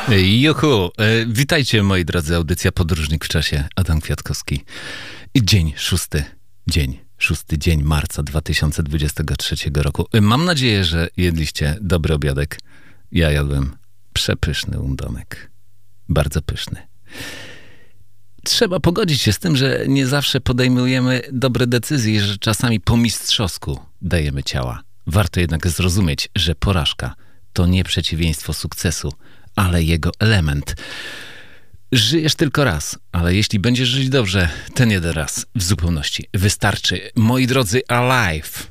Juhu, witajcie moi drodzy, audycja Podróżnik w czasie, Adam Kwiatkowski. I szósty dzień marca 2023 roku. Mam nadzieję, że jedliście dobry obiadek. Ja jadłem przepyszny undonek. Bardzo pyszny. Trzeba pogodzić się z tym, że nie zawsze podejmujemy dobre decyzje, że czasami po mistrzowsku dajemy ciała. Warto jednak zrozumieć, że porażka to nie przeciwieństwo sukcesu, ale jego element. Żyjesz tylko raz, ale jeśli będziesz żyć dobrze, ten jeden raz w zupełności wystarczy. Moi drodzy, Alive!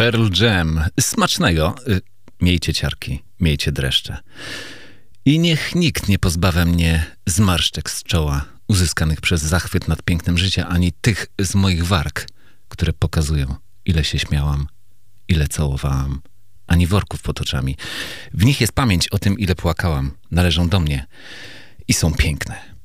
Pearl Jam. Smacznego. Miejcie ciarki, miejcie dreszcze. I niech nikt nie pozbawia mnie zmarszczek z czoła, uzyskanych przez zachwyt nad pięknem życia, ani tych z moich warg, które pokazują, ile się śmiałam, ile całowałam, ani worków pod oczami. W nich jest pamięć o tym, ile płakałam. Należą do mnie i są piękne.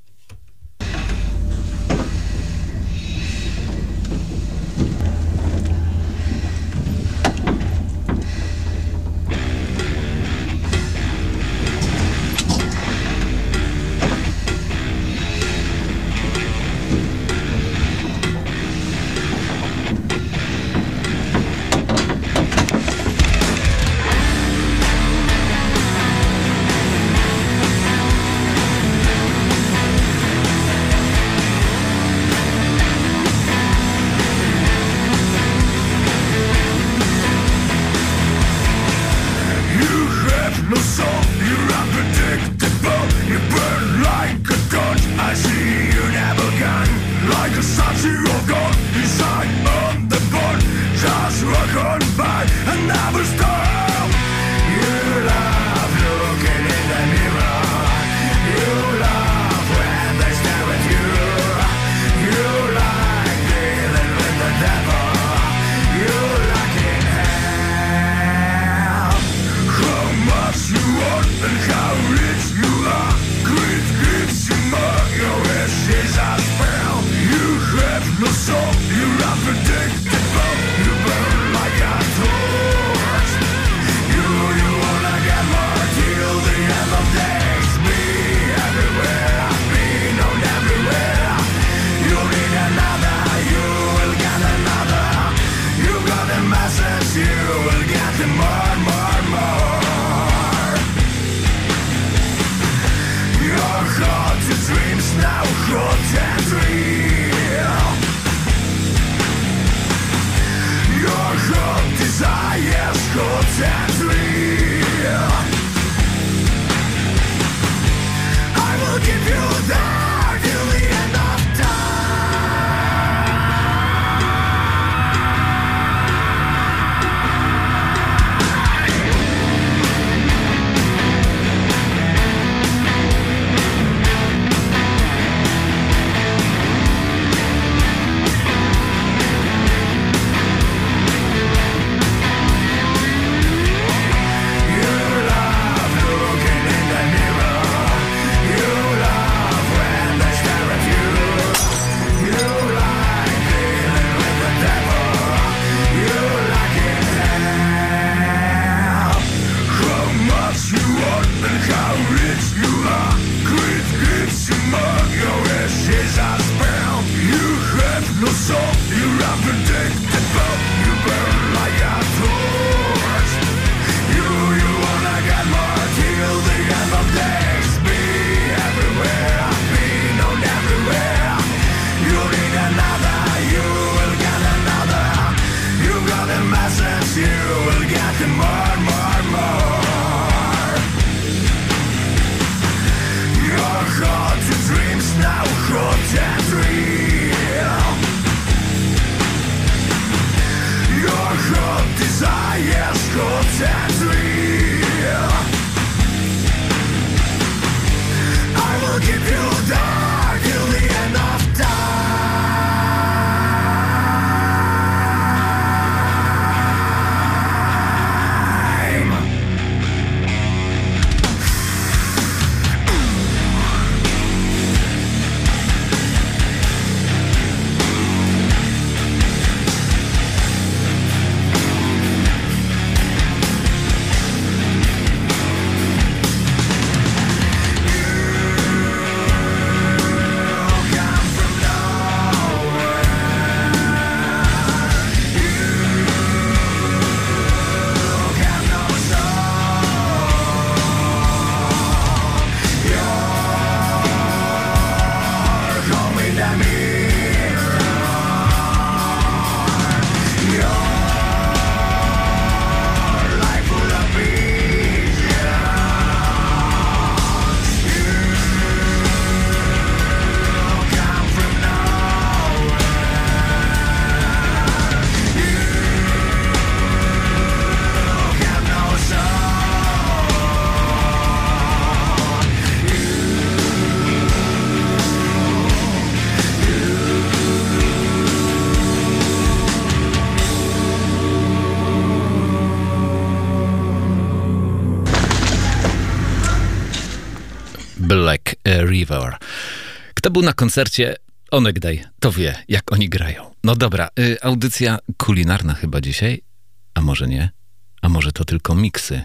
Black River. Kto był na koncercie Onegdaj, to wie, jak oni grają. No dobra, audycja kulinarna chyba dzisiaj, a może nie? A może to tylko miksy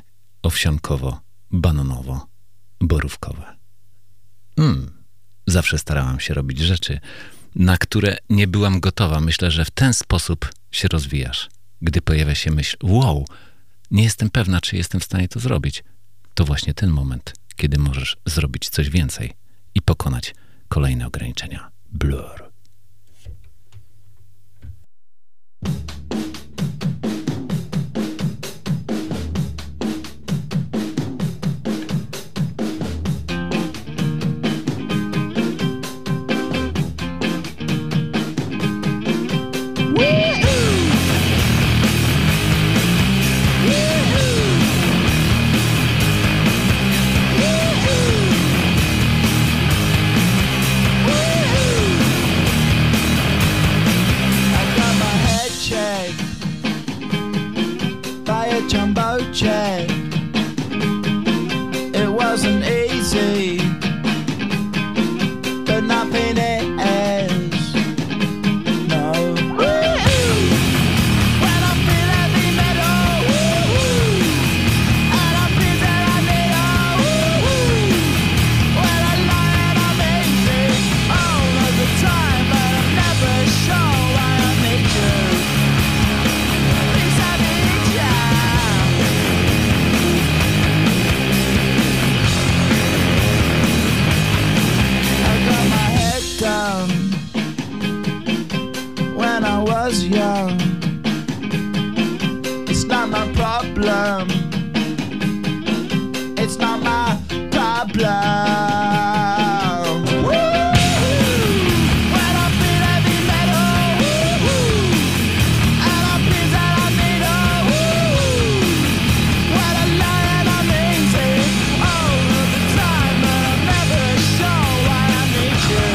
owsiankowo-bananowo-borówkowe. Zawsze starałam się robić rzeczy, na które nie byłam gotowa. Myślę, że w ten sposób się rozwijasz. Gdy pojawia się myśl, wow, nie jestem pewna, czy jestem w stanie to zrobić. To właśnie ten moment, kiedy możesz zrobić coś więcej i pokonać kolejne ograniczenia. Blur. Jumbo jet. It wasn't easy, but nothing is. No. When I feel heavy metal, and I feel that I need when I lie and I'm easy all of the time, but I'm never sure why I need you. Please I need you. Down when I was young. It's not my problem. It's not my problem. When I feel heavy metal, and I feel that I need when I lie and I'm easy all of the time, but I'm never sure why I need you.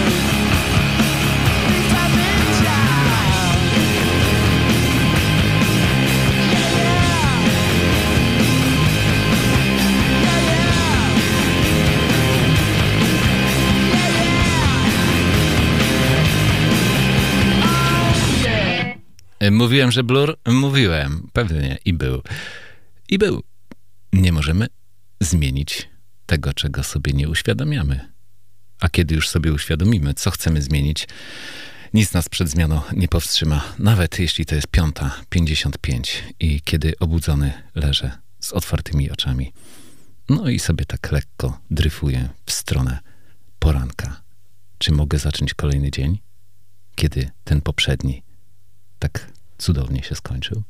Mówiłem, że Blur? Mówiłem. Pewnie. I był. I był. Nie możemy zmienić tego, czego sobie nie uświadamiamy. A kiedy już sobie uświadomimy, co chcemy zmienić, nic nas przed zmianą nie powstrzyma. Nawet jeśli to jest 5:55 i kiedy obudzony leżę z otwartymi oczami. No i sobie tak lekko dryfuję w stronę poranka. Czy mogę zacząć kolejny dzień, kiedy ten poprzedni tak cudownie się skończył?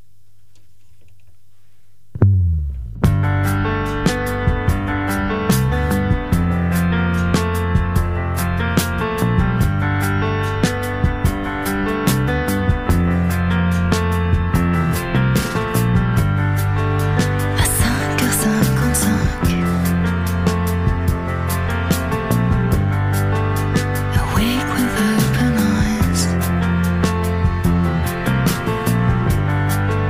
Awake with open eyes.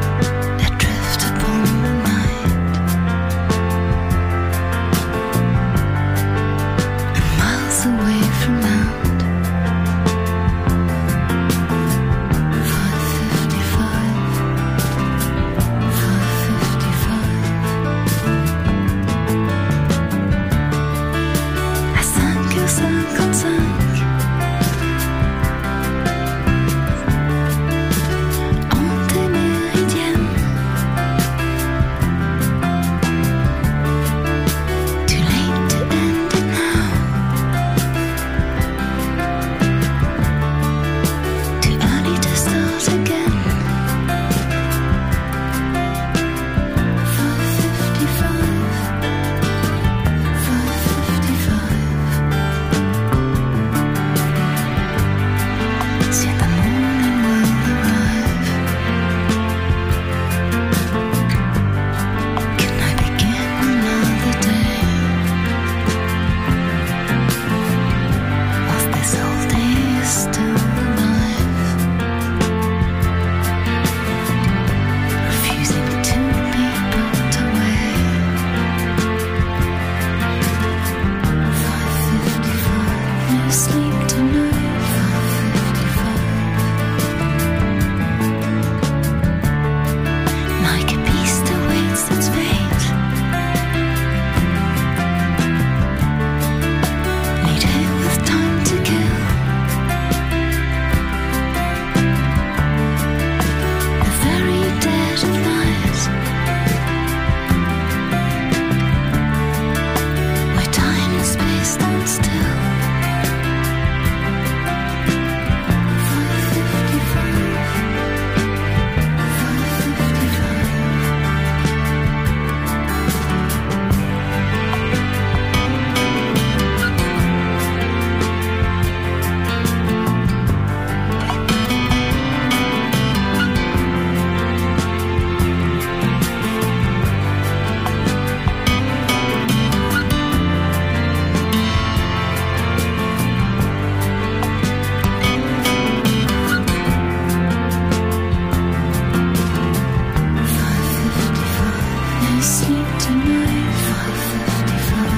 sleep tonight, 5:55.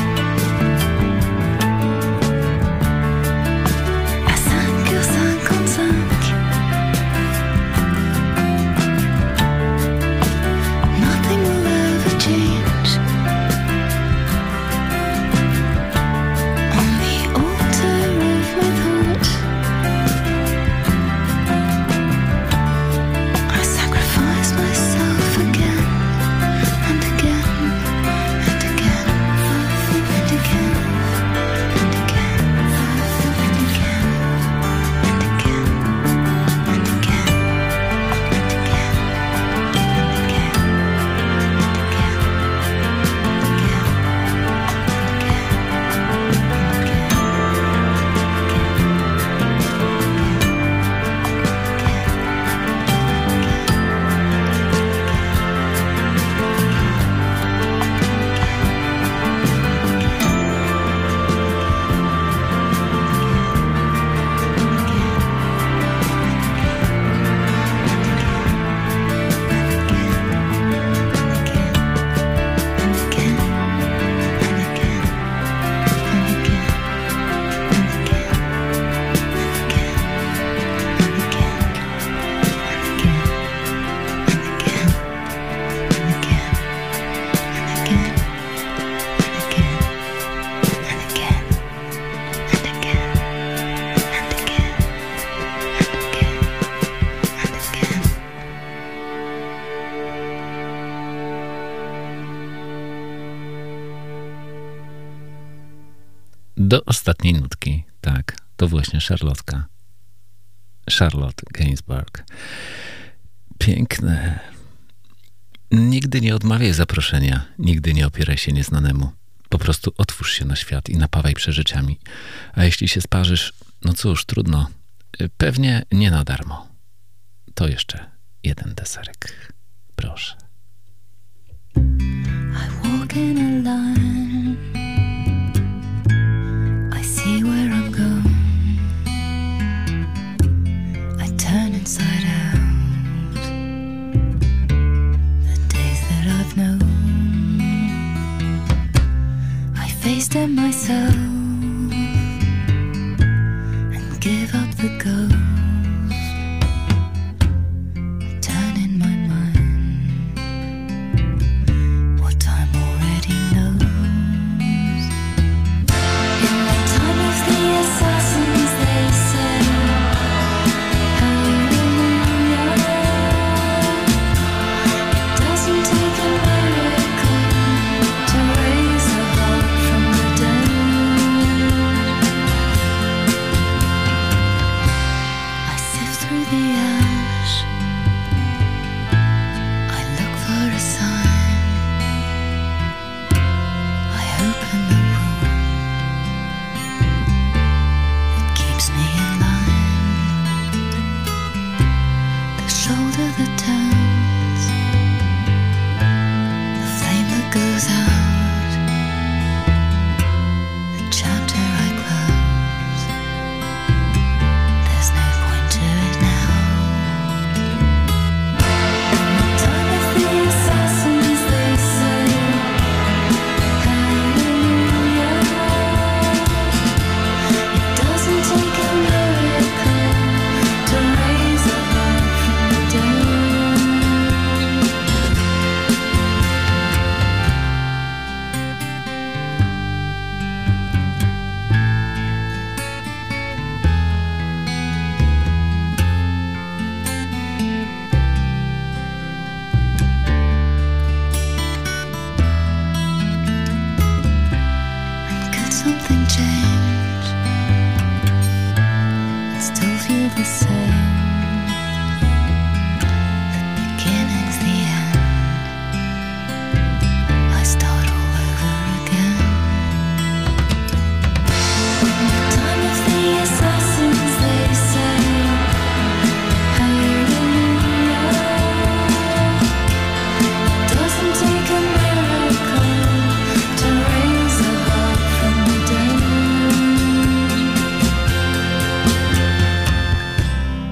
À 5h55. Nothing will ever change. On the altar of my thoughts, I sacrifice myself again and again and again and again and again and again and again and again Do ostatniej nutki, tak, to właśnie Szarlotka. Charlotte Gainsbourg. Piękne. Nigdy nie odmawiaj zaproszenia, nigdy nie opieraj się nieznanemu. Po prostu otwórz się na świat i napawaj przeżyciami. A jeśli się sparzysz, no cóż, trudno. Pewnie nie na darmo. To jeszcze jeden deserek. Proszę. I walk in a line. I see where I'm going. I turn inside out. The days that I've known, I face them myself and give up the ghost. I turn in my mind what time already knows. In the time of the assassins, they say, hallelujah. It doesn't take a miracle to raise a heart from the dead. I sift through the ash, I look for a sign. I open the wound that keeps me in line. The shoulder that turns, the flame that goes out, the chapter I close. There's no point to it now. In the time of the assassins, they say, hallelujah. It doesn't take a miracle to raise a heart from the dead. And could something change and still feel the same? The beginning's the end. I start all over again. In the time of the assassins, they say, hallelujah. It doesn't take a miracle to raise a heart from the dead.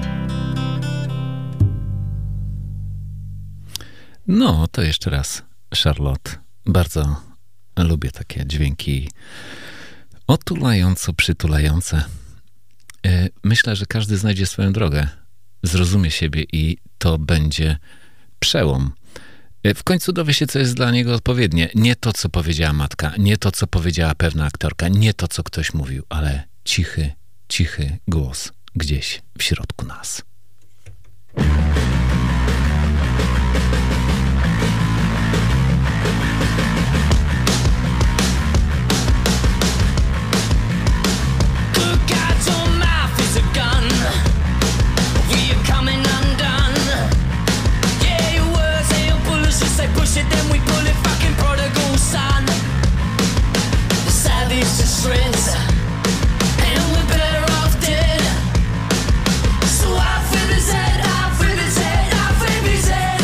No, to jeszcze raz Charlotte. Bardzo lubię takie dźwięki otulająco, przytulające. Myślę, że każdy znajdzie swoją drogę, zrozumie siebie i to będzie przełom. W końcu dowie się, co jest dla niego odpowiednie. Nie to, co powiedziała matka, nie to, co powiedziała pewna aktorka, nie to, co ktoś mówił, ale cichy, cichy głos gdzieś w środku nas. Good God, your mouth is a gun. We're coming undone. Yeah, your words and your bullets, you say push it, then we pull it. Fucking prodigal son. The savage to shreds, and we're better off dead. So off with his head, off with his head, off with his head.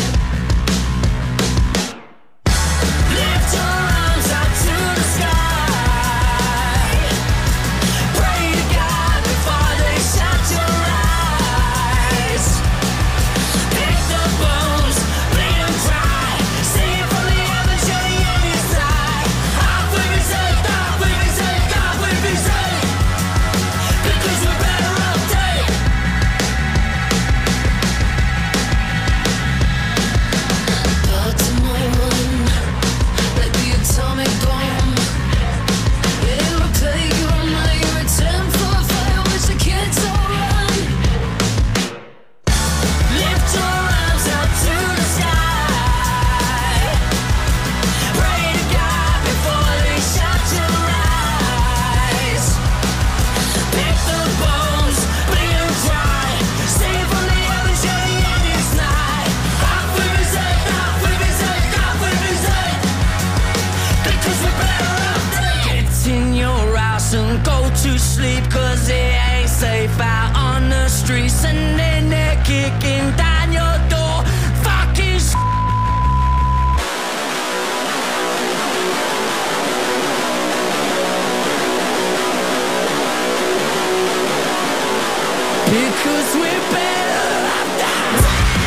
Lift your arms up to the sky. Pray to God before they shut your eyes. Pick the bones, bleed them dry. See it from the heavens, you're the enemy's side. Off with his head, off with his head, off with his head. Because we're better off dead. Baltimore one, like the atomic bomb. Yeah, it'll take you all night. You're a 10 for a fire, wish the kids all run. Lift your arms up to the sky. Pray to God before they shut your eyes. Pick the bones, bleed them dry. Save from the heavens, you're the enemy's night. Off with his head, off with his head, off with his head. Because we're better off dead. Get in your house and go to sleep, 'cause it ain't safe out on the streets. And then they're kicking down your door. Fucking because we're better off dead.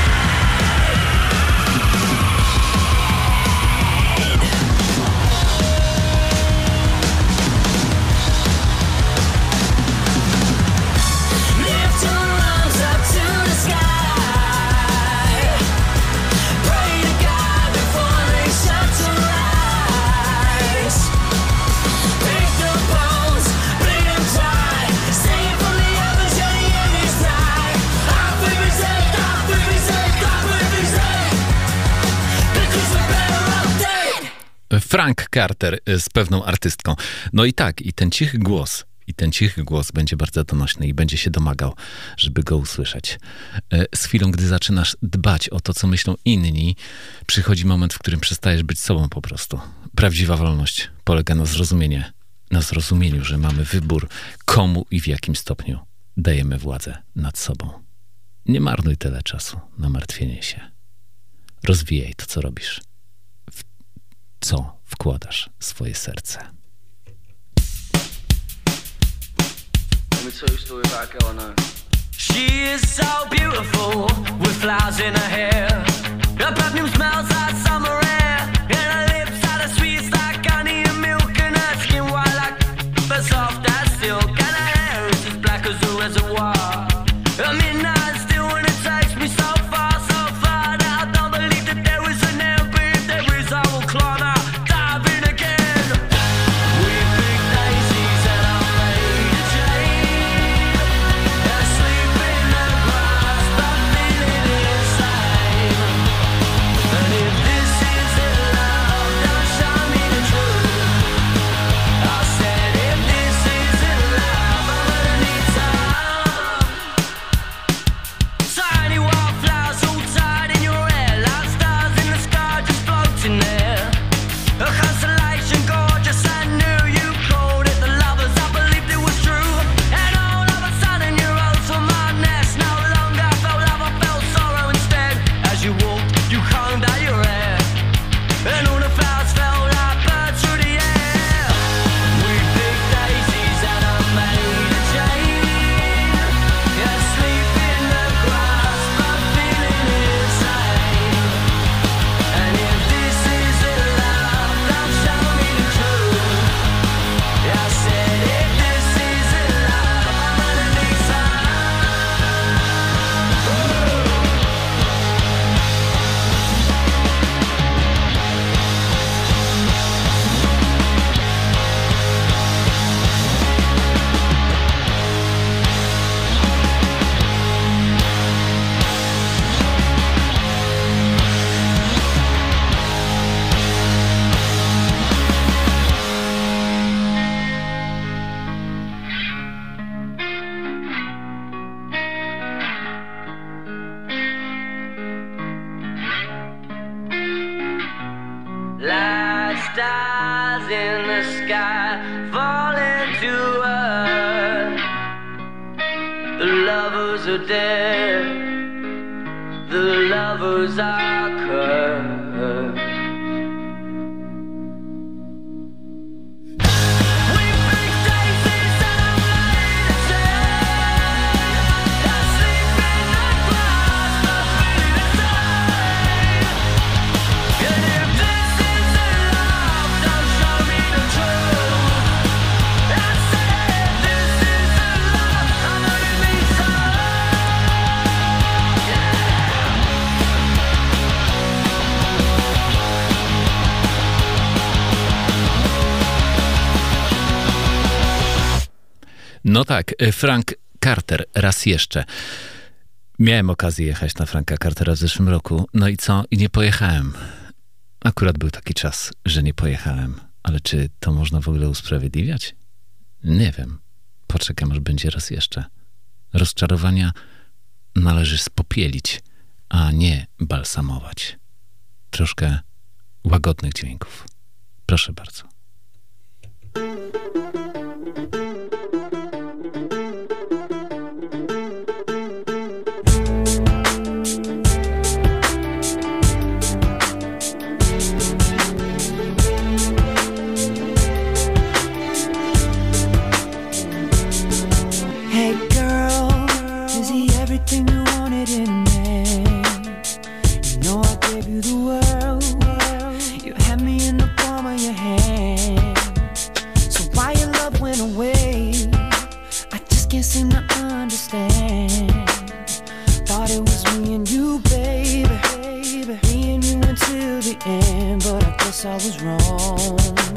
Lift your arms up to the sky. Pray to God before they shut your eyes. Pick the bones, bleed them dry. Save from the heavens, you're the enemy's night. Off with his head, off with his head, off with his head. Because we're better off dead. Frank Carter z pewną artystką. No i tak, i ten cichy głos będzie bardzo donośny i będzie się domagał, żeby go usłyszeć. Z chwilą, gdy zaczynasz dbać o to, co myślą inni, przychodzi moment, w którym przestajesz być sobą po prostu. Prawdziwa wolność polega na zrozumieniu, że mamy wybór, komu i w jakim stopniu dajemy władzę nad sobą. Nie marnuj tyle czasu na martwienie się. Rozwijaj to, co robisz. W co wkładasz swoje serce. Let me tell you a story about a girl I know. She is so beautiful with flowers in her hair. Her perfume smells like summer air, and her lips are the sweetest like honey and milk, and her skin white like but soft as silk, and her hair is as black as a reservoir. Her midnight still when it takes me so far that I don't believe that there is an end, but if there is, I will climb out, dive in again. We pick daisies and I'm made of jade. Asleep in the grass, but feeling insane. And if this is are dead, the lovers are cursed. We make daisies and I'm laid to I sleep in the glass, not feeling the same. And if this isn't love, don't show me the truth. I said this isn't love, I know it means so. No tak, Frank Carter, raz jeszcze. Miałem okazję jechać na Franka Cartera w zeszłym roku, no i co? I nie pojechałem. Akurat był taki czas, że nie pojechałem. Ale czy to można w ogóle usprawiedliwiać? Nie wiem. Poczekam, aż będzie raz jeszcze. Rozczarowania należy spopielić, a nie balsamować. Troszkę łagodnych dźwięków. Proszę bardzo. Hey girl, is he everything you wanted in a man? You know I gave you the world. You had me in the palm of your hand. So why your love went away? I just can't seem to understand. Thought it was me and you, baby. Me and you until the end, but I guess I was wrong.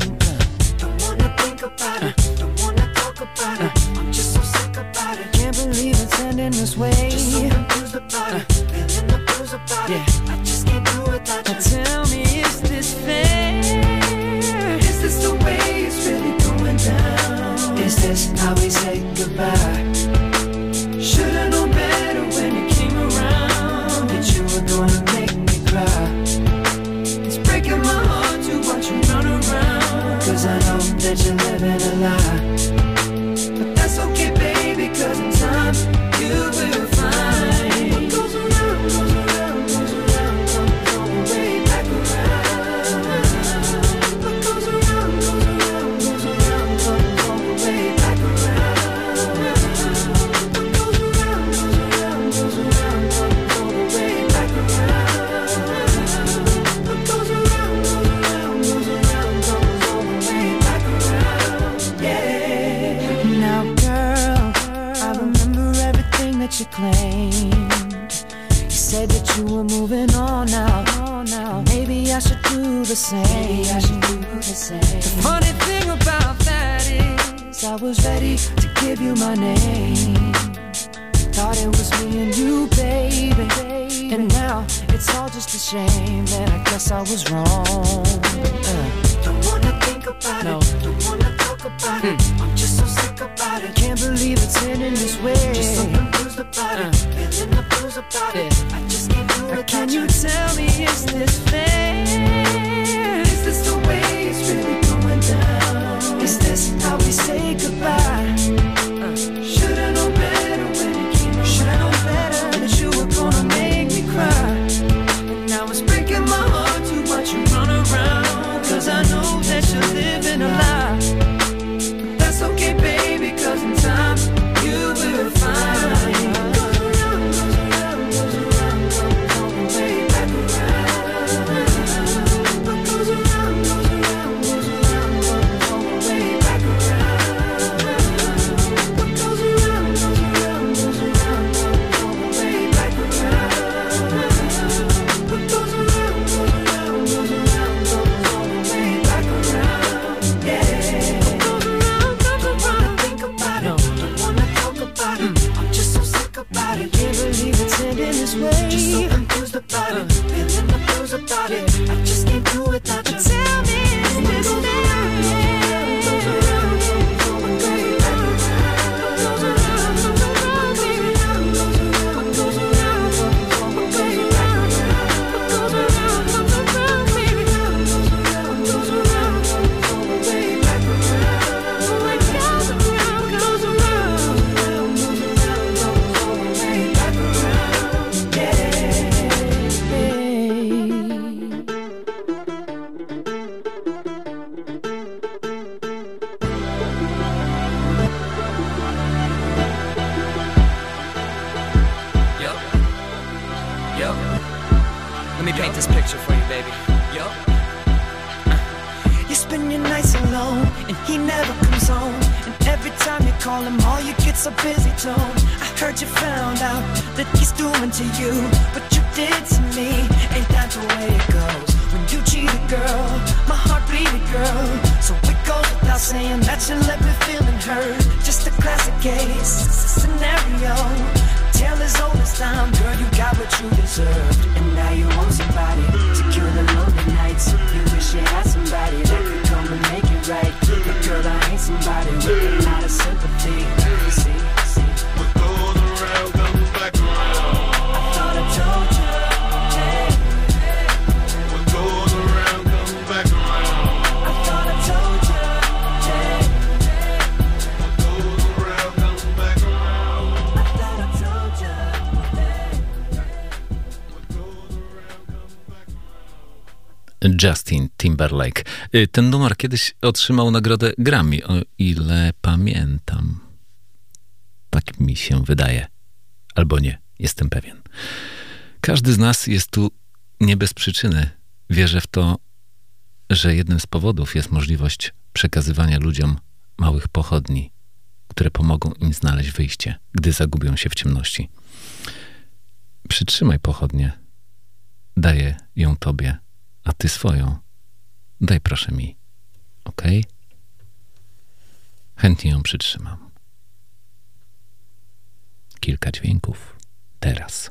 Don't wanna think about it, don't wanna talk about it. I'm just so sick about it. Can't believe it's ending this way. Just so confused about it, feeling the blues about it. I just can't do without you. Tell me, is this fair? Is this the way it's really going down? Is this how we say goodbye? Should've known better when you came around that you were gonna make me cry. It's breaking my heart to watch you run around, 'cause I know that you're living a lie. But that's okay, baby, 'cause in time you will find what goes around, goes around, goes around, comes all the way back around. What goes around, goes around, goes around, comes all the way back around. What goes around, goes around, goes around, comes all the way back around. What goes around, goes around, goes around, comes all the way back around. Yeah. Now, girl, I remember everything that you claimed. You said that you were moving on now. Maybe I should do the same. The funny thing about that is I was ready to give you my name. Thought it was me and you, baby. And now it's all just a shame that I guess I was wrong. Don't wanna think about it, don't wanna talk about it. I'm just so sick about it. Can't believe it's ending this way. Just so confused about it, feeling the blues about it. I just can't do it. Can you tell me, is this fair? Is this the way it's really going down? Is this how we say goodbye? Should've known better when it came around. Should've known better that you were gonna make me cry. And now it's breaking my heart to watch you run around, 'cause I know that you're living a lie. But that's okay, baby, 'cause in time you will find. What goes around, goes around, goes around, comes all the way back around. What goes around, goes around, goes around, comes all the way back around. What goes around, goes around, goes around, comes all the way back around. What goes around, goes around, goes around, comes all the way back around. this picture for you, baby. Yo. You spend your nights alone, and he never comes home. And every time you call him, all you get's a busy tone. I heard you found out that he's doing to you what you did to me. Ain't that the way it goes? When you cheat a girl, my heart bleeded, girl. So it goes without saying that you left me feeling hurt. Just a classic case, scenario. Tale as old as time, girl, you got what you deserved. And now you want somebody to cure the lonely nights. You wish you had somebody that could come and make it right. But girl, I ain't somebody with a lot of sympathy. See, What goes around comes back around. I thought I told you, hey. What goes around comes back around. I thought I told you, hey. What goes around comes back around. I thought I told you, hey. What goes around comes back around. Justin Timberlake. Ten numer kiedyś otrzymał nagrodę Grammy, o ile pamiętam. Tak mi się wydaje. Albo nie, jestem pewien. Każdy z nas jest tu nie bez przyczyny. Wierzę w to, że jednym z powodów jest możliwość przekazywania ludziom małych pochodni, które pomogą im znaleźć wyjście, gdy zagubią się w ciemności. Przytrzymaj pochodnię. Daję ją tobie, a ty swoją daj proszę mi. Okej? Chętnie ją przytrzymam. Kilka dźwięków teraz.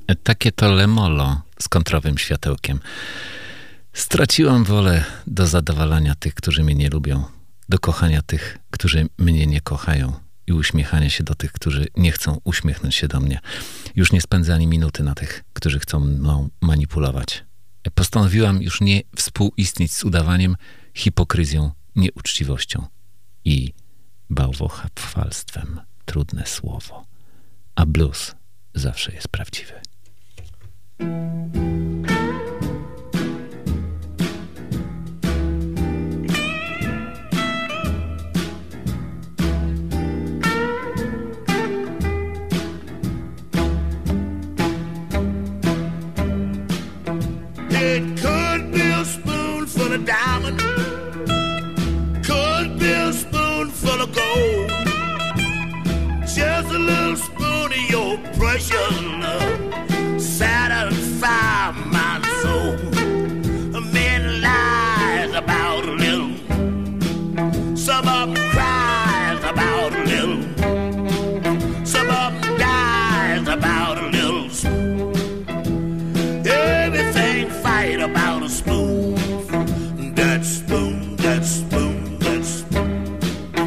Takie to lemolo z kontrowym światełkiem. Straciłam wolę do zadowalania tych, którzy mnie nie lubią, do kochania tych, którzy mnie nie kochają i uśmiechania się do tych, którzy nie chcą uśmiechnąć się do mnie. Już nie spędzę ani minuty na tych, którzy chcą mną manipulować. Postanowiłam już nie współistnieć z udawaniem, hipokryzją, nieuczciwością i bałwochwalstwem. Trudne słowo. A blues zawsze jest prawdziwy. It could be a spoonful of diamond, could be a spoonful of gold, just a little spoon of your precious love, satisfy my soul. Men lies about a little, some of them cries about a little, some of them dies about a little spoon. Everything fight about a spoon, that spoon, that spoon, that spoon.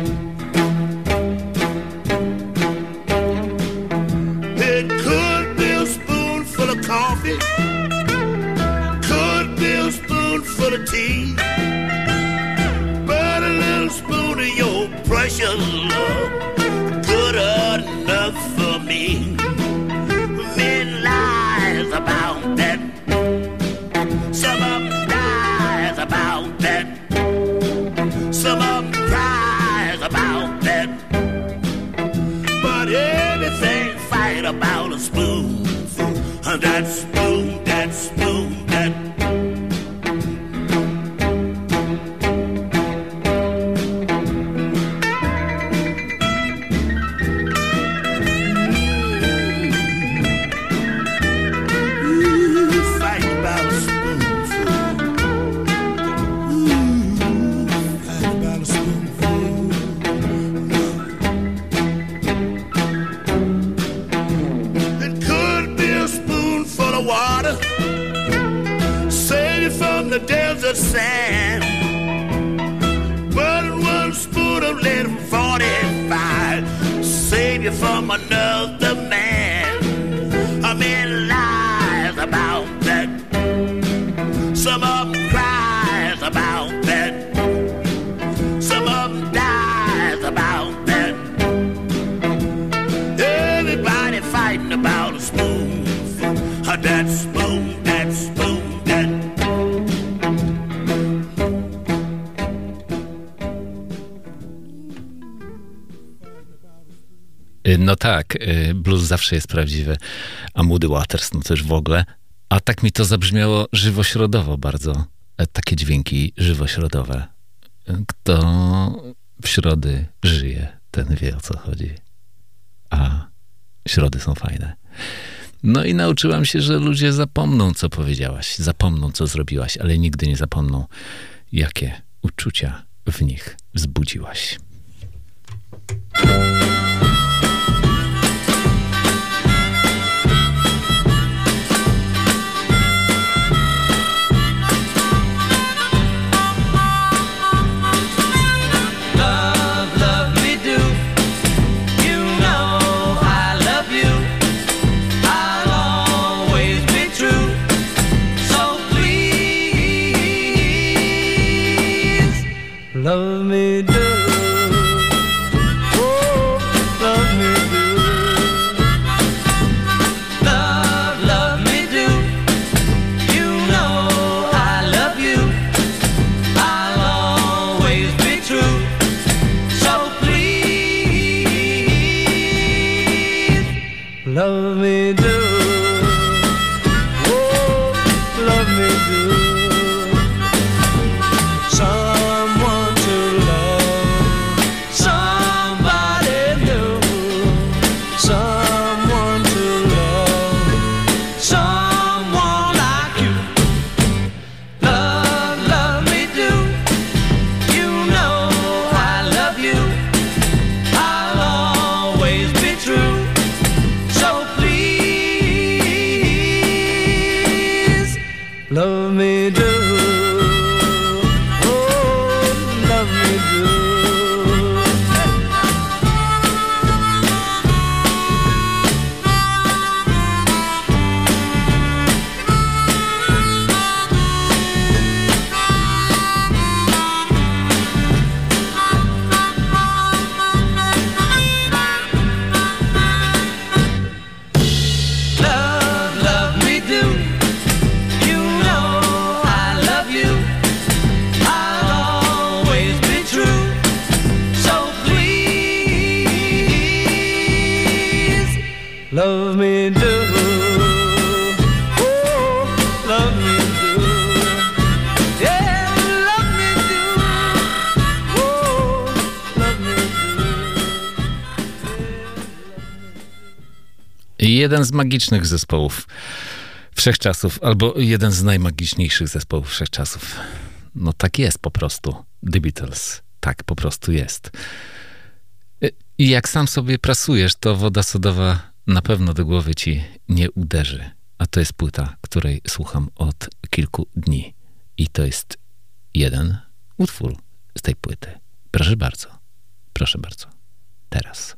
It could be a spoonful of coffee, could be a spoonful of tea, but a little spoon of your precious love, good enough for me. Men lies about that, some of them dies about that, some of them cries about that, but everything fight about a spoonful, that spoon, that spoon, that. Fight about a spoonful. Fight about a spoonful. It could be a spoonful of water, save you from the desert sand. But in one spoon of lead 45, save you from another man. A man lies about that, some of them cries about that, some of them dies about that. Everybody fighting about a spoonful, that spoon, that spoon, that. No tak, blues zawsze jest prawdziwy, a Muddy Waters no też w ogóle. A tak mi to zabrzmiało żywośrodowo bardzo. Takie dźwięki żywośrodowe. Kto w środy żyje, ten wie, o co chodzi. A środy są fajne. No i nauczyłam się, że ludzie zapomną, co powiedziałaś, zapomną, co zrobiłaś, ale nigdy nie zapomną, jakie uczucia w nich wzbudziłaś. Love, love me do. You know I love you. I'll always be true. So please, love me do. Oh, love me do. Love, love me do. You know I love you. I'll always be true. So please, love me do. Oh, love me do. Someone to love, somebody new. Someone to love, someone like you. Love, love me do. You know I love you. I'll always be true. So please, Love me do. Oh, love me do. Yeah, love me do. Oh, love me do. Jeden z magicznych zespołów wszechczasów, albo jeden z najmagiczniejszych zespołów wszechczasów. No tak jest po prostu. The Beatles. Tak po prostu jest. I jak sam sobie prasujesz, to woda sodowa na pewno do głowy ci nie uderzy. A to jest płyta, której słucham od kilku dni. I to jest jeden utwór z tej płyty. Proszę bardzo. Proszę bardzo. Teraz.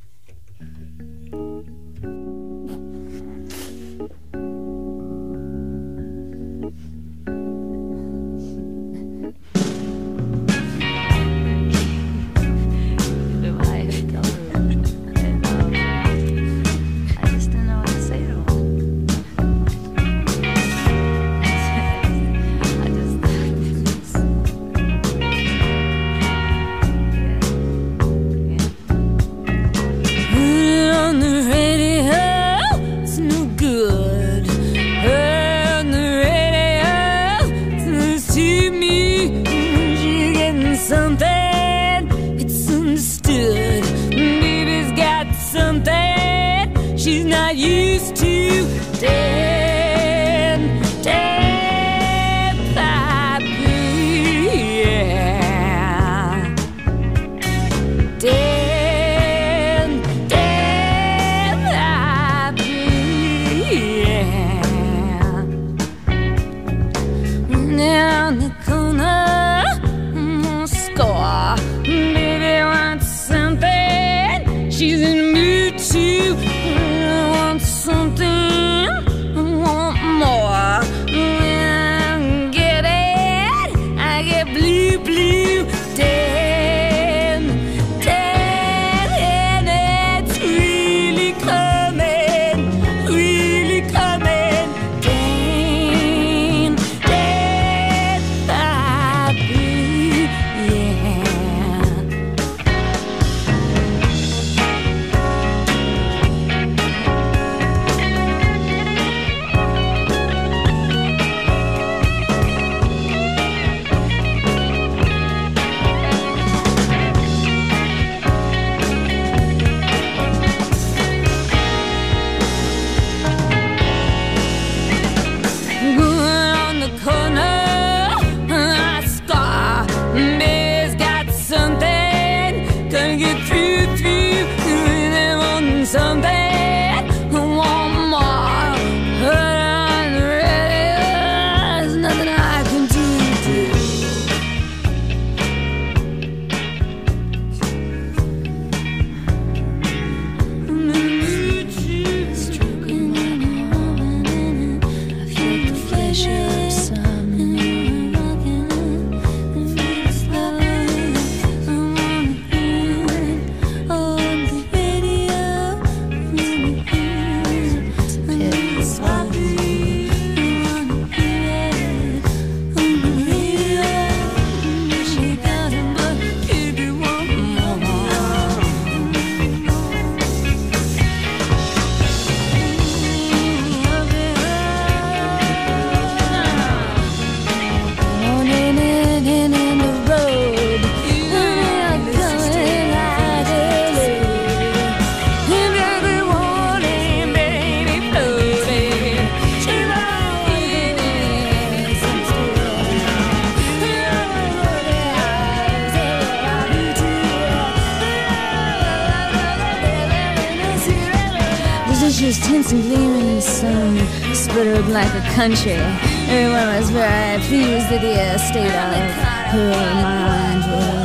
Just hints and gleaming, sun sputtered like a country. Everyone was very pleased that the state of her mind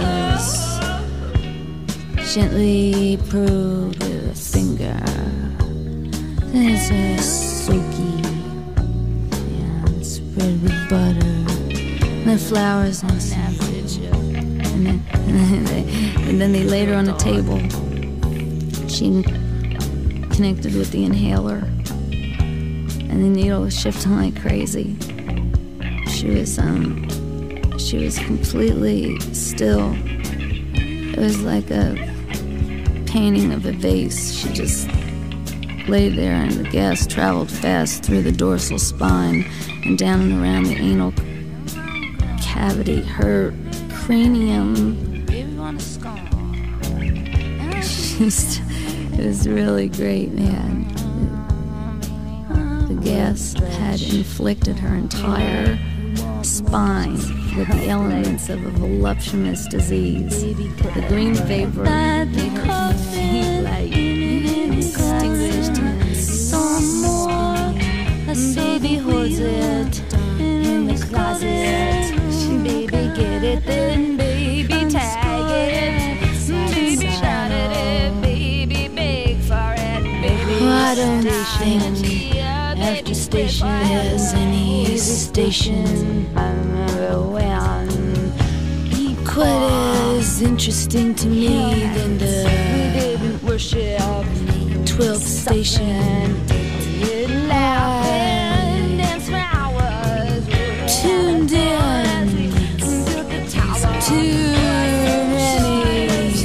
was gently probed with a finger. It's a silky and spread with butter. The flowers on saffron, and then they laid her on a table. She connected with the inhaler, and the needle was shifting like crazy. She was completely still. It was like a painting of a vase. She just laid there, and the gas traveled fast through the dorsal spine and down and around the anal cavity. Her cranium. It was really great, man. The gas had inflicted her entire spine with the elements of a voluptuous disease. The green vapor made her faint like extinguished in someone. A baby holds it in the closet. Baby, get it, then baby, tag it. Baby, shout at it, baby, beg for it. Baby, I don't think after station there's any station quite as interesting to me than the 12th station. Tuned in too many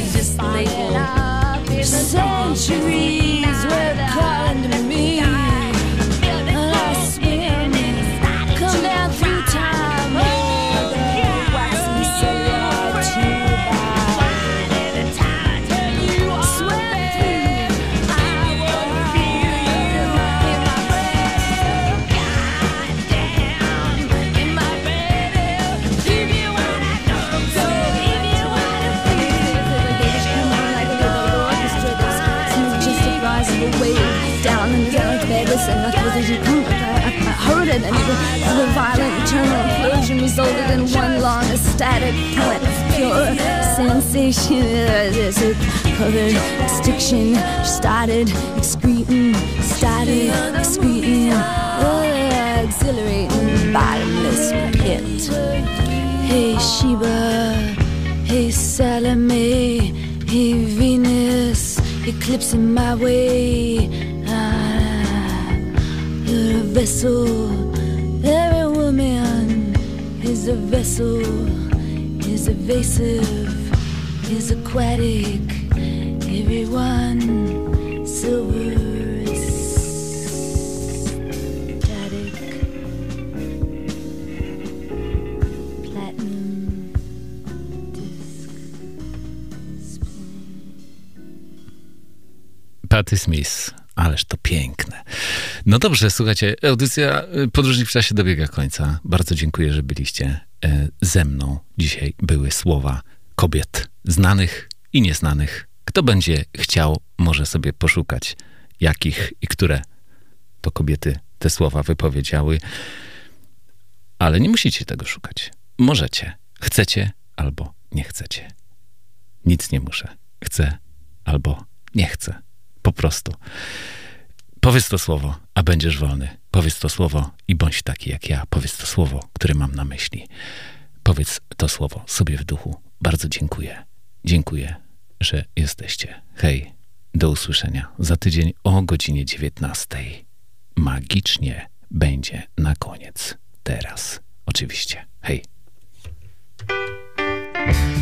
centuries were calling to me. I spin, come down through time, waxy cellular tube. Sweat through, I won't feel you in my breath. Goddamn, in my breath. If you wanna go, if you wanna feel. Come on like a little orchestra that's smooth, just a rise of a wave down in the dark Vegas, and nothing was you come. I heard it, and the violent eternal implosion resulted in one long ecstatic point of pure sensation. There's a covered extinction, started excreting, exhilarating, bottomless pit. Hey Sheba, hey Salome, hey Venus, eclipsing my way. You're a vessel, every woman is a vessel, is evasive, is aquatic, everyone silver is static, platinum disc spinning. Patti Smith. Ależ to piękne. No dobrze, słuchajcie, audycja Podróżnik w czasie dobiega końca. Bardzo dziękuję, że byliście ze mną. Dzisiaj były słowa kobiet znanych i nieznanych. Kto będzie chciał, może sobie poszukać, jakich i które to kobiety te słowa wypowiedziały. Ale nie musicie tego szukać. Możecie. Chcecie albo nie chcecie. Nic nie muszę. Chcę albo nie chcę. Po prostu. Powiedz to słowo, a będziesz wolny. Powiedz to słowo i bądź taki jak ja. Powiedz to słowo, które mam na myśli. Powiedz to słowo sobie w duchu. Bardzo dziękuję. Dziękuję, że jesteście. Hej, do usłyszenia za tydzień o godzinie 19. Magicznie będzie na koniec. Teraz. Oczywiście. Hej.